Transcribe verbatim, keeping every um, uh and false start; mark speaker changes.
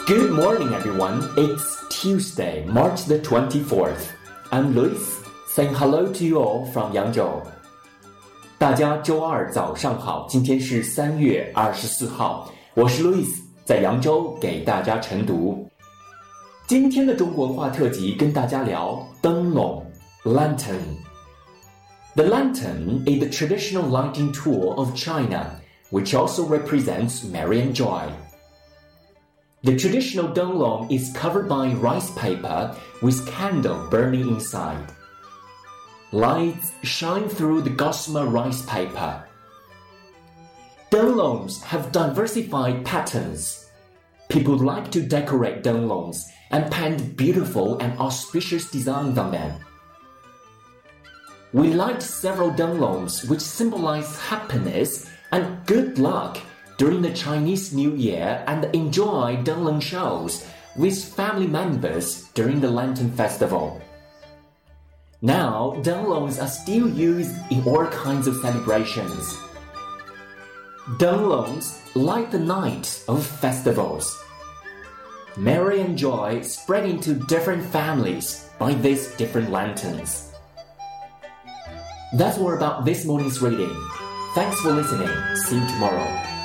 Speaker 1: Good morning, everyone. It's Tuesday, March the twenty-fourth. I'm Luis, saying hello to you all from Yangzhou. 大家周二早上好，今天是三月二十四号，我是 Luis， 在扬州给大家晨读。今天的中国文化特辑跟大家聊灯笼 Lantern。The lantern is the traditional lighting tool of China, which also represents merry and joy.The traditional donglong is covered by rice paper with candle burning inside. Lights shine through the gossamer rice paper. Donglongs have diversified patterns. People like to decorate donglongs and paint beautiful and auspicious designs on them. We light several donglongs which symbolize happiness and good luck.During the Chinese New Year and enjoy donglong shows with family members during the Lantern Festival. Now, donglongs are still used in all kinds of celebrations. Donglongs light the night of festivals. Merry and joy spread into different families by these different lanterns. That's all about this morning's reading. Thanks for listening. See you tomorrow.